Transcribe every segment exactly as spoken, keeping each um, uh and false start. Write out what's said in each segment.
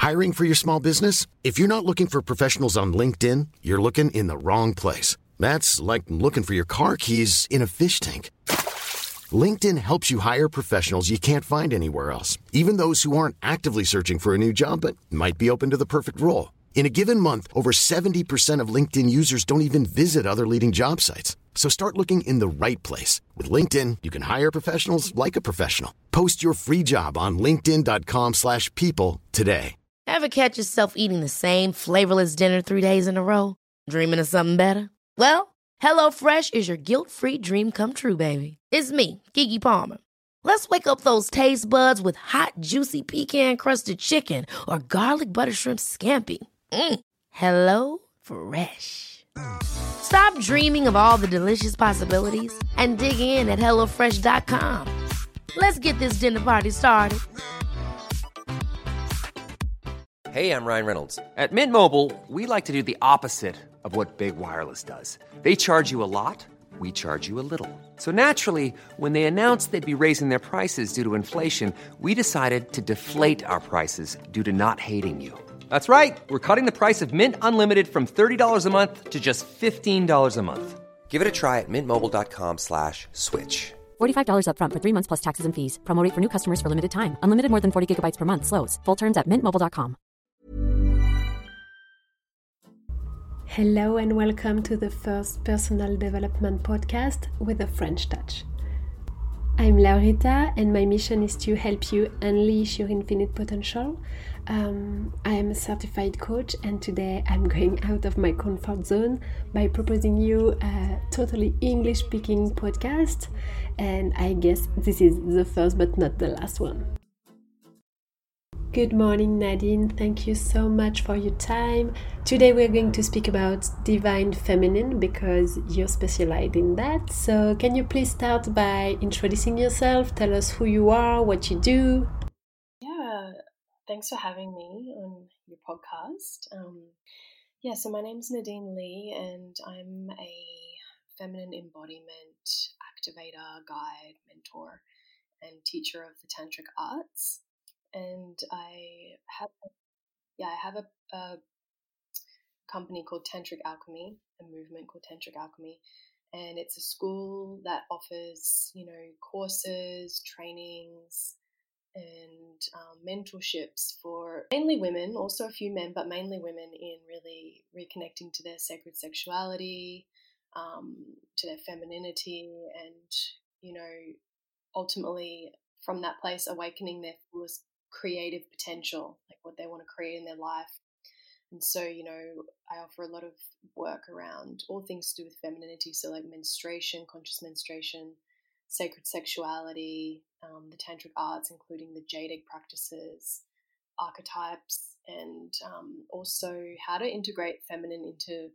Hiring for your small business? If you're not looking for professionals on LinkedIn, you're looking in the wrong place. That's like looking for your car keys in a fish tank. LinkedIn helps you hire professionals you can't find anywhere else, even those who aren't actively searching for a new job but might be open to the perfect role. In a given month, over seventy percent of LinkedIn users don't even visit other leading job sites. So start looking in the right place. With LinkedIn, you can hire professionals like a professional. Post your free job on linkedin.com slash people today. Ever catch yourself eating the same flavorless dinner three days in a row? Dreaming of something better? Well, HelloFresh is your guilt-free dream come true, baby. It's me, Keke Palmer. Let's wake up those taste buds with hot, juicy pecan-crusted chicken or garlic butter shrimp scampi. Mm. Hello Fresh. Stop dreaming of all the delicious possibilities and dig in at hello fresh dot com. Let's get this dinner party started. Hey, I'm Ryan Reynolds. At Mint Mobile, we like to do the opposite of what Big Wireless does. They charge you a lot, we charge you a little. So naturally, when they announced they'd be raising their prices due to inflation, we decided to deflate our prices due to not hating you. That's right. We're cutting the price of Mint Unlimited from thirty dollars a month to just fifteen dollars a month. Give it a try at mintmobile.com slash switch. forty-five dollars up front for three months plus taxes and fees. Promo rate for new customers for limited time. Unlimited more than forty gigabytes per month. Slows full terms at mint mobile dot com. Hello and welcome to the first personal development podcast with a French touch. I'm Laurita and my mission is to help you unleash your infinite potential. Um, I am a certified coach and today I'm going out of my comfort zone by proposing you a totally English-speaking podcast, and I guess this is the first but not the last one. Good morning, Nadine. Thank you so much for your time. Today we're going to speak about Divine Feminine because you're specialized in that. So can you please start by introducing yourself? Tell us who you are, what you do. Yeah, thanks for having me on your podcast. Um, yeah, so my name's Nadine Lee and I'm a feminine embodiment activator, guide, mentor, and teacher of the Tantric arts. And I have, yeah, I have a, a company called Tantric Alchemy, a movement called Tantric Alchemy, and it's a school that offers, you know, courses, trainings, and um, mentorships for mainly women, also a few men, but mainly women in really reconnecting to their sacred sexuality, um, to their femininity, and, you know, ultimately from that place awakening their fullest creative potential, like what they want to create in their life. And so, you know, I offer a lot of work around all things to do with femininity, so like menstruation, conscious menstruation, sacred sexuality, um, the tantric arts, including the jade egg practices, archetypes, and um, also how to integrate feminine into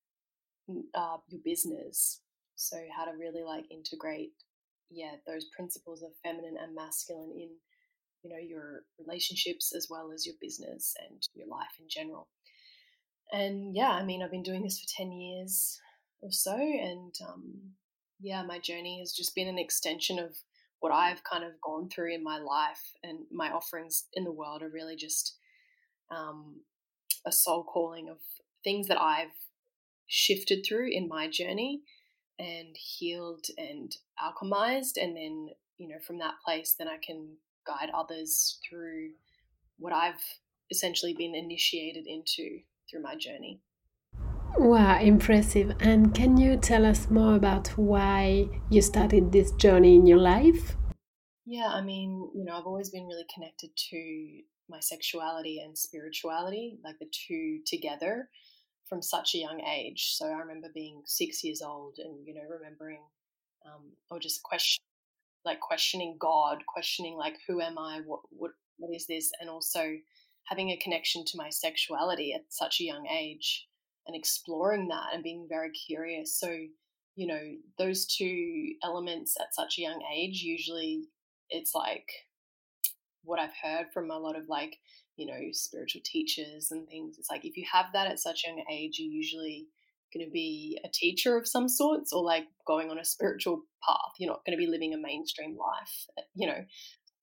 uh, your business. So how to really like integrate, yeah, those principles of feminine and masculine in, you know, your relationships as well as your business and your life in general. And yeah, I mean, I've been doing this for ten years or so. And um, yeah, my journey has just been an extension of what I've kind of gone through in my life, and my offerings in the world are really just um, a soul calling of things that I've shifted through in my journey and healed and alchemized. And then, you know, from that place, then I can guide others through what I've essentially been initiated into through my journey. Wow, impressive. And can you tell us more about why you started this journey in your life? Yeah, I mean, you know, I've always been really connected to my sexuality and spirituality, like the two together from such a young age. So I remember being six years old and, you know, remembering um, or just question like questioning God, questioning like, who am I? What, what, what is this? And also having a connection to my sexuality at such a young age and exploring that and being very curious. So, you know, those two elements at such a young age, usually it's like what I've heard from a lot of like, you know, spiritual teachers and things. It's like, if you have that at such a young age, you're usually going to be a teacher of some sorts or like going on a spiritual path. You're not going to be living a mainstream life, you know.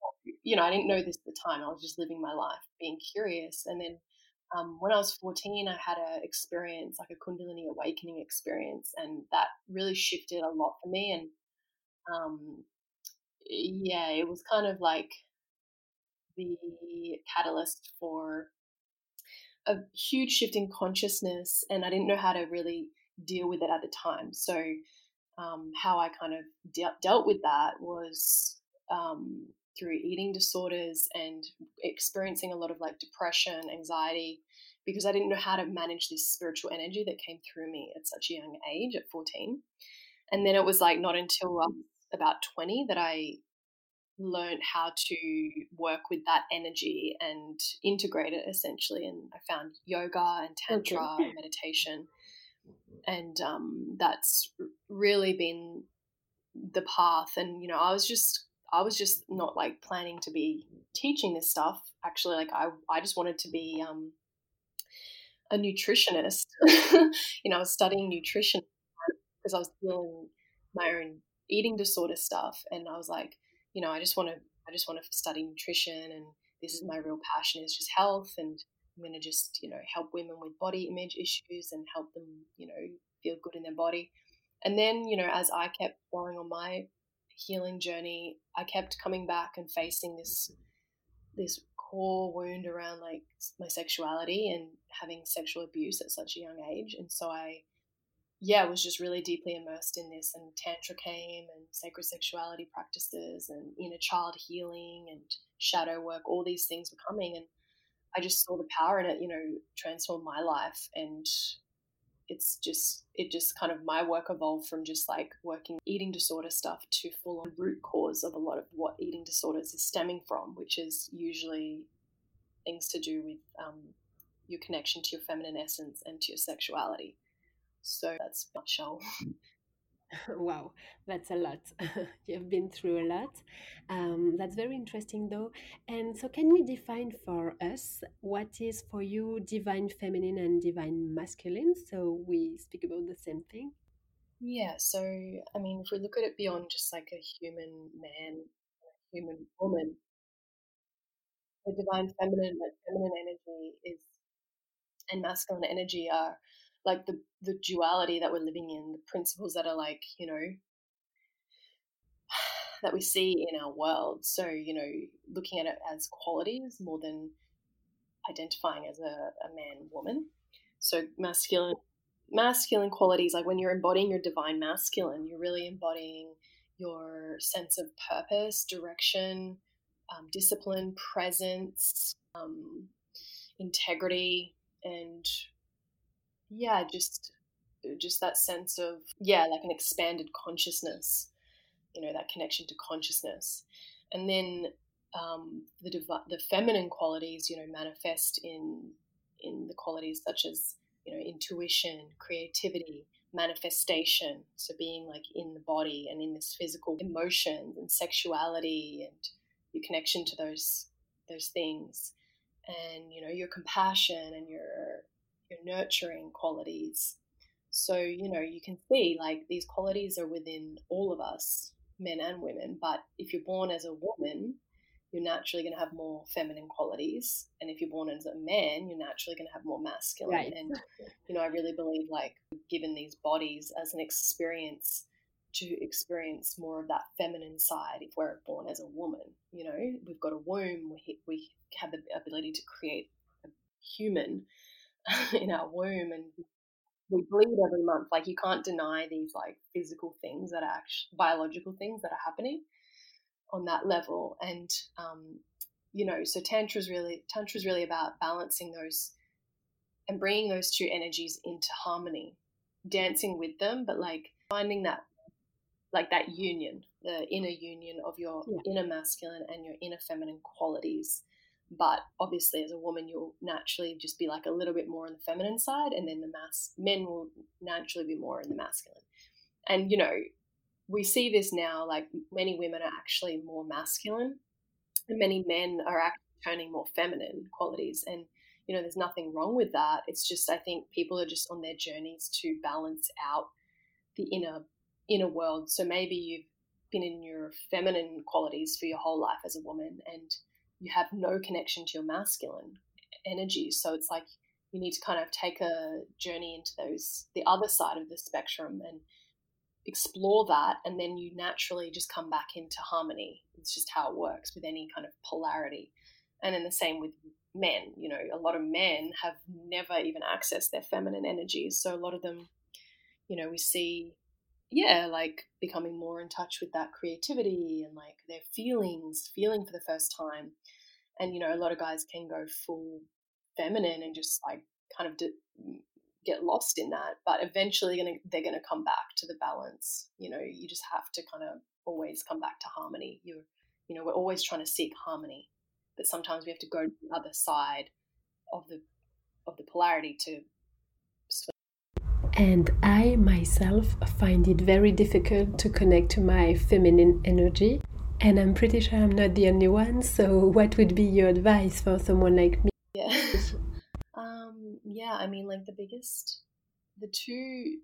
you know, I didn't know this at the time. I was just living my life, being curious. And then um, when I was fourteen, I had a experience, like a Kundalini awakening experience, and that really shifted a lot for me. And um, yeah, it was kind of like the catalyst for a huge shift in consciousness, and I didn't know how to really deal with it at the time. So um, how I kind of de- dealt with that was um, through eating disorders and experiencing a lot of like depression, anxiety, because I didn't know how to manage this spiritual energy that came through me at such a young age, at fourteen. And then it was like not until I was about twenty that I learned how to work with that energy and integrate it essentially. And I found yoga and tantra Okay. and meditation. And um, that's really been the path. And, you know, I was just, I was just not like planning to be teaching this stuff. Actually, like I, I just wanted to be um, a nutritionist. You know, I was studying nutrition because I was feeling my own eating disorder stuff. And I was like, you know, I just want to, I just want to study nutrition, and this is my real passion, is just health. And I'm going to just, you know, help women with body image issues and help them, you know, feel good in their body. And then, you know, as I kept going on my healing journey, I kept coming back and facing this, this core wound around like my sexuality and having sexual abuse at such a young age. And so I, yeah, was just really deeply immersed in this, and Tantra came, and sacred sexuality practices and inner child healing and shadow work, all these things were coming. And I just saw the power in it, you know, transform my life. And it's just, it just kind of, my work evolved from just like working eating disorder stuff to full on root cause of a lot of what eating disorders is stemming from, which is usually things to do with um, your connection to your feminine essence and to your sexuality. So that's a nutshell. Wow, that's a lot. You've been through a lot. Um, that's very interesting, though. And so, can you define for us what is for you divine feminine and divine masculine? So, we speak about the same thing. Yeah, so I mean, if we look at it beyond just like a human man, a human woman, the divine feminine, like feminine energy is, and masculine energy are like the the duality that we're living in, the principles that are like, you know, that we see in our world. So, you know, looking at it as qualities more than identifying as a, a man, woman. So masculine masculine qualities, like when you're embodying your divine masculine, you're really embodying your sense of purpose, direction, um, discipline, presence, um, integrity, and yeah, just just that sense of, yeah, like an expanded consciousness, you know, that connection to consciousness. And then um, the divi- the feminine qualities, you know, manifest in in the qualities such as, you know, intuition, creativity, manifestation. So being like in the body and in this physical emotions and sexuality and your connection to those those things, and you know, your compassion and your your nurturing qualities. So, you know, you can see like these qualities are within all of us, men and women. But if you're born as a woman, you're naturally going to have more feminine qualities. And if you're born as a man, you're naturally going to have more masculine. Right. And, you know, I really believe like given these bodies as an experience to experience more of that feminine side if we're born as a woman. You know, we've got a womb, we, we have the ability to create a human in our womb, and we bleed every month. Like you can't deny these like physical things that are actually biological things that are happening on that level. And um, you know, so tantra is really tantra is really about balancing those and bringing those two energies into harmony, dancing with them, but like finding that like that union, the inner union of your Yeah. inner masculine and your inner feminine qualities. But obviously as a woman, you'll naturally just be like a little bit more on the feminine side, and then the mass men will naturally be more in the masculine. And, you know, we see this now, like many women are actually more masculine and many men are actually turning more feminine qualities. And, you know, there's nothing wrong with that. It's just, I think people are just on their journeys to balance out the inner, inner world. So maybe you've, been in your feminine qualities for your whole life as a woman, and you have no connection to your masculine energy. So it's like you need to kind of take a journey into those, the other side of the spectrum, and explore that, and then you naturally just come back into harmony. It's just how it works with any kind of polarity. And then the same with men. You know, a lot of men have never even accessed their feminine energies. So a lot of them, you know, we see, yeah, like becoming more in touch with that creativity and like their feelings, feeling for the first time. And, you know, a lot of guys can go full feminine and just like kind of d- get lost in that. But eventually gonna, they're going to come back to the balance. You know, you just have to kind of always come back to harmony. You're, you know, we're always trying to seek harmony, but sometimes we have to go to the other side of the of the polarity to swim. And I myself find it very difficult to connect to my feminine energy. And I'm pretty sure I'm not the only one. So what would be your advice for someone like me? Yeah. um, yeah, I mean, like the biggest, the two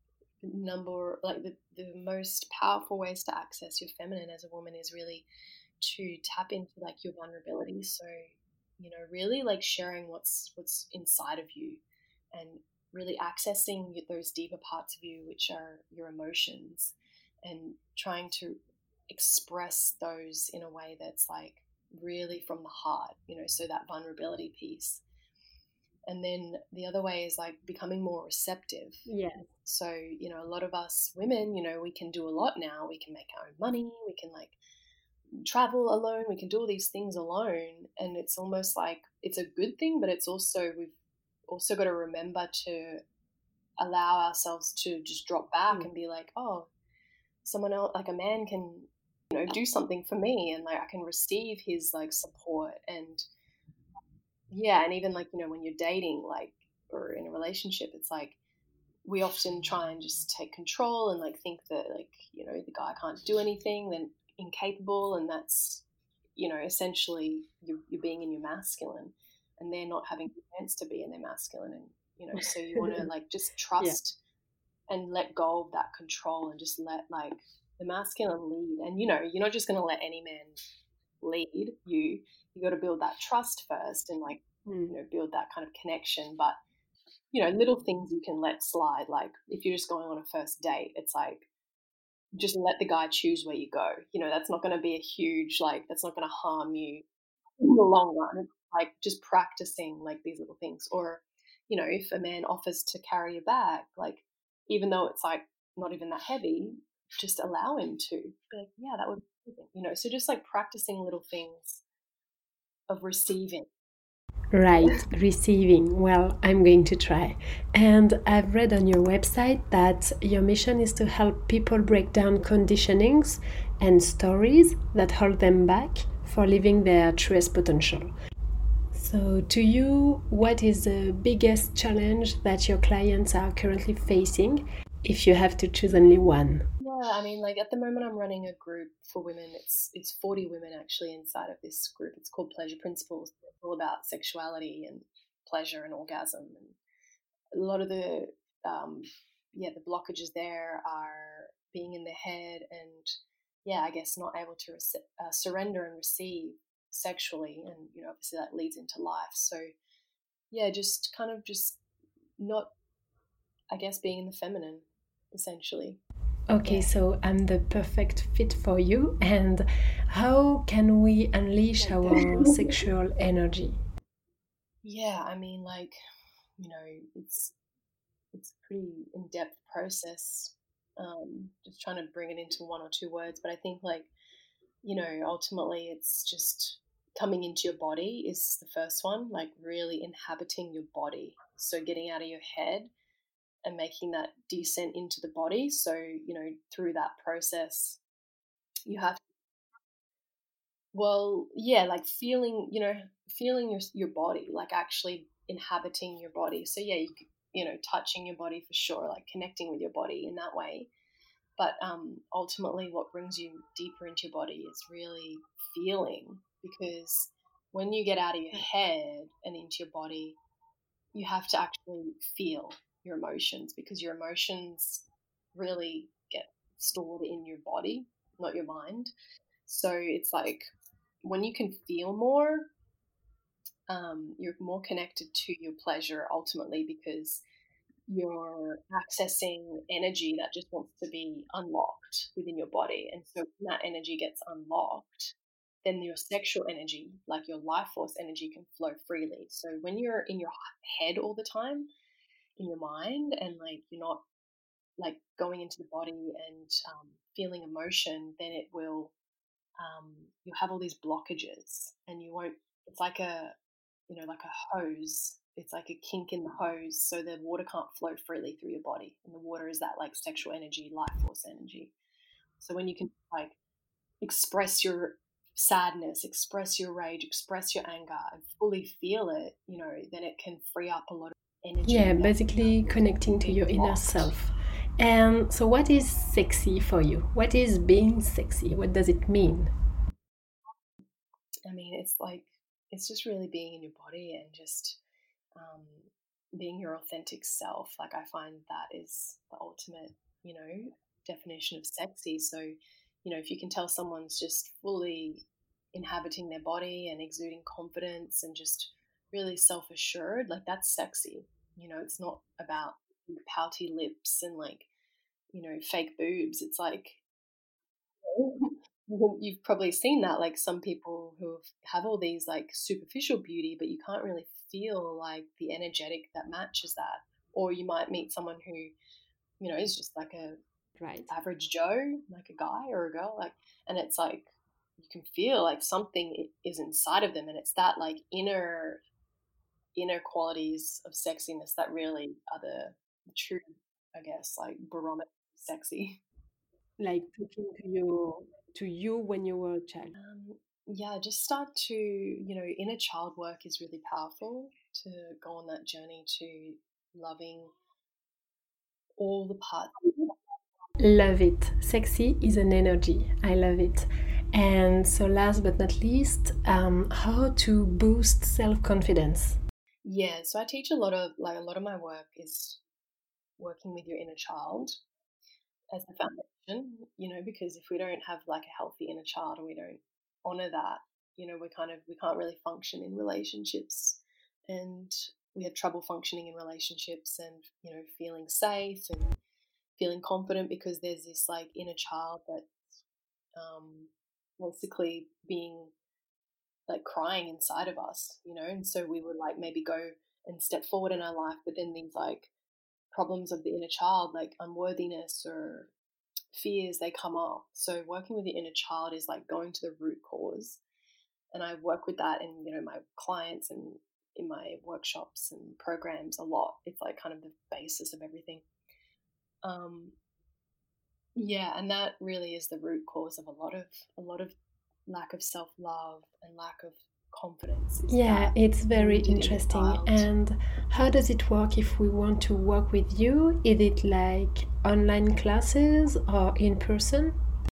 number, like the, the most powerful ways to access your feminine as a woman is really to tap into like your vulnerability. So, you know, really like sharing what's what's inside of you, and really accessing those deeper parts of you, which are your emotions, and trying to express those in a way that's like really from the heart, you know, so that vulnerability piece. And then the other way is like becoming more receptive. Yeah. So, you know, a lot of us women, you know, we can do a lot now. We can make our own money. We can like travel alone. We can do all these things alone. And it's almost like it's a good thing, but it's also, we've also got to remember to allow ourselves to just drop back mm. and be like, oh, someone else, like a man can, you know, do something for me, and like I can receive his like support. And yeah, and even like, you know, when you're dating, like, or in a relationship, it's like we often try and just take control and like think that like, you know, the guy can't do anything, then incapable, and that's, you know, essentially you're, you're being in your masculine, and they're not having the chance to be in their masculine. And, you know, so you want to like just trust yeah. and let go of that control, and just let like the masculine lead. And, you know, you're not just going to let any man lead you. You got to build that trust first, and like, mm. you know, build that kind of connection. But, you know, little things you can let slide. Like if you're just going on a first date, it's like, just let the guy choose where you go. You know, that's not going to be a huge, like, that's not going to harm you in the long run. It's like just practicing like these little things. Or, you know, if a man offers to carry your bag, like, even though it's like not even that heavy, just allow him to. Be like, yeah, that would be amazing. You know, so just like practicing little things of receiving. Right, receiving. Well, I'm going to try. And I've read on your website that your mission is to help people break down conditionings and stories that hold them back for living their truest potential. So to you, what is the biggest challenge that your clients are currently facing, if you have to choose only one? Yeah, I mean, like at the moment I'm running a group for women. It's it's forty women actually inside of this group. It's called Pleasure Principles. It's all about sexuality and pleasure and orgasm. And a lot of the, um, yeah, the blockages there are being in the head and, yeah, I guess not able to rec- uh, surrender and receive sexually. And, you know, obviously that leads into life. So, yeah, just kind of just not, I guess, being in the feminine, essentially. Okay, so I'm the perfect fit for you. And how can we unleash our sexual energy? Yeah, I mean, like, you know, it's it's a pretty in-depth process. Um, just trying to bring it into one or two words, but I think, like, you know, ultimately it's just coming into your body is the first one, like really inhabiting your body. So getting out of your head and making that descent into the body. So, you know, through that process, you have, well, yeah, like feeling, you know, feeling your your body, like actually inhabiting your body. So, yeah, you, you know, touching your body for sure, like connecting with your body in that way. But um, ultimately what brings you deeper into your body is really feeling, because when you get out of your head and into your body, you have to actually feel your emotions, because your emotions really get stored in your body. not your mind. So it's like when you can feel more, um, you're more connected to your pleasure ultimately, because you're accessing energy that just wants to be unlocked within your body. And so when that energy gets unlocked, then your sexual energy, like your life force energy, can flow freely. So when you're in your head all the time, in your mind, and like you're not like going into the body and um, feeling emotion, then it will, um, you'll have all these blockages, and you won't, it's like a, you know, like a hose. It's like a kink in the hose, so the water can't flow freely through your body. And the water is that like sexual energy, life force energy. So when you can like express your sadness, express your rage, express your anger, and fully feel it, you know, then it can free up a lot of energy. Yeah, basically connecting to your inner self. And so what is sexy for you? What is being sexy? What does it mean? I mean, it's like, it's just really being in your body and just um, being your authentic self. Like I find that is the ultimate, you know, definition of sexy. So, you know, if you can tell someone's just fully inhabiting their body and exuding confidence and just really self-assured, like that's sexy. You know, it's not about pouty lips and like, you know, fake boobs. It's like, you've probably seen that, like some people who have all these like superficial beauty, but you can't really feel like the energetic that matches that. Or you might meet someone who, you know, is just like a right average Joe, like a guy or a girl, like, and it's like you can feel like something is inside of them, and it's that like inner inner qualities of sexiness that really are the, the true, I guess, like barometer of sexy. Like talking to you to you when you were a child. Um, yeah, just start to, you know, inner child work is really powerful to go on that journey to loving all the parts. Love it. Sexy is an energy. I love it. And so last but not least, um, how to boost self-confidence. Yeah, so I teach a lot of, like a lot of my work is working with your inner child as the foundation, you know, because if we don't have like a healthy inner child and we don't honor that, you know, we kind of, we can't really function in relationships, and we have trouble functioning in relationships and, you know, feeling safe and feeling confident because there's this like inner child that's um, basically being like crying inside of us, you know, and so we would like maybe go and step forward in our life, but then these like problems of the inner child, like unworthiness or fears, they come up. So working with the inner child is like going to the root cause, and I work with that in, you know, my clients and in my workshops and programs a lot. It's like kind of the basis of everything. Um, yeah, and that really is the root cause of a lot of a lot of lack of self-love and lack of confidence. Yeah, it's very interesting. And how does it work if we want to work with you? Is it like online classes or in person?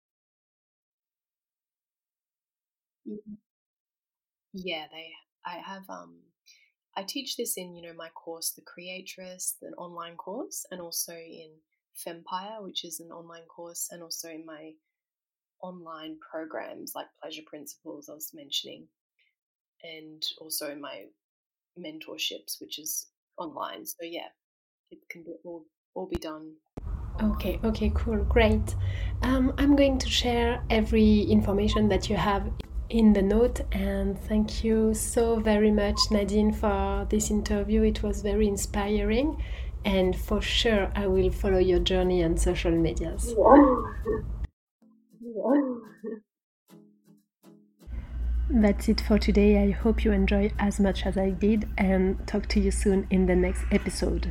Yeah, they. I have. Um, I teach this in, you know, my course, The Creatress, an online course, and also in Fempire, which is an online course, and also in my online programs like Pleasure Principles I was mentioning, and also in my mentorships, which is online. So yeah, it can be all, all be done. Okay, okay, cool, great. Um, I'm going to share every information that you have in the note, and thank you so very much, Nadine, for this interview. It was very inspiring, and for sure I will follow your journey on social medias. That's it for today. I hope you enjoyed as much as I did, and talk to you soon in the next episode.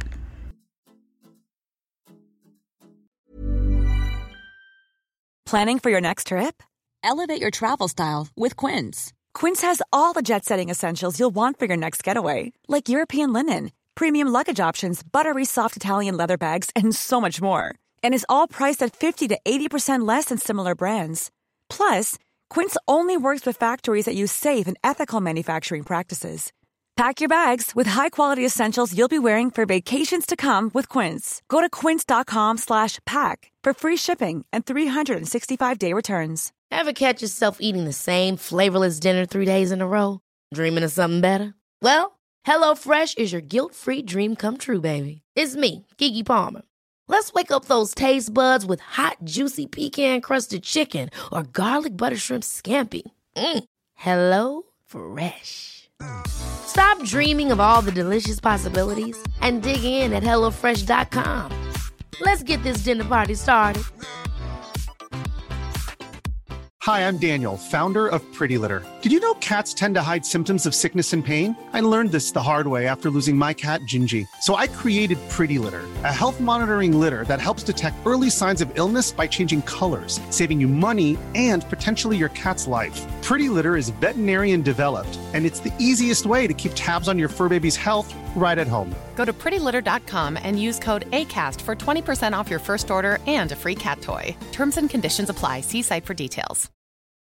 Planning for your next trip? Elevate your travel style with Quince. Quince has all the jet-setting essentials you'll want for your next getaway, like European linen, premium luggage options, buttery soft Italian leather bags, and so much more. And is all priced at fifty to eighty percent less than similar brands. Plus, Quince only works with factories that use safe and ethical manufacturing practices. Pack your bags with high-quality essentials you'll be wearing for vacations to come with Quince. Go to quince.com slash pack for free shipping and three sixty-five day returns. Ever catch yourself eating the same flavorless dinner three days in a row? Dreaming of something better? Well, HelloFresh is your guilt-free dream come true, baby. It's me, Keke Palmer. Let's wake up those taste buds with hot, juicy pecan-crusted chicken or garlic butter shrimp scampi. Mm. Hello Fresh. Stop dreaming of all the delicious possibilities and dig in at hello fresh dot com. Let's get this dinner party started. Hi, I'm Daniel, founder of Pretty Litter. Did you know cats tend to hide symptoms of sickness and pain? I learned this the hard way after losing my cat, Gingy. So I created Pretty Litter, a health monitoring litter that helps detect early signs of illness by changing colors, saving you money and potentially your cat's life. Pretty Litter is veterinarian developed, and it's the easiest way to keep tabs on your fur baby's health right at home. Go to pretty litter dot com and use code ACAST for twenty percent off your first order and a free cat toy. Terms and conditions apply. See site for details.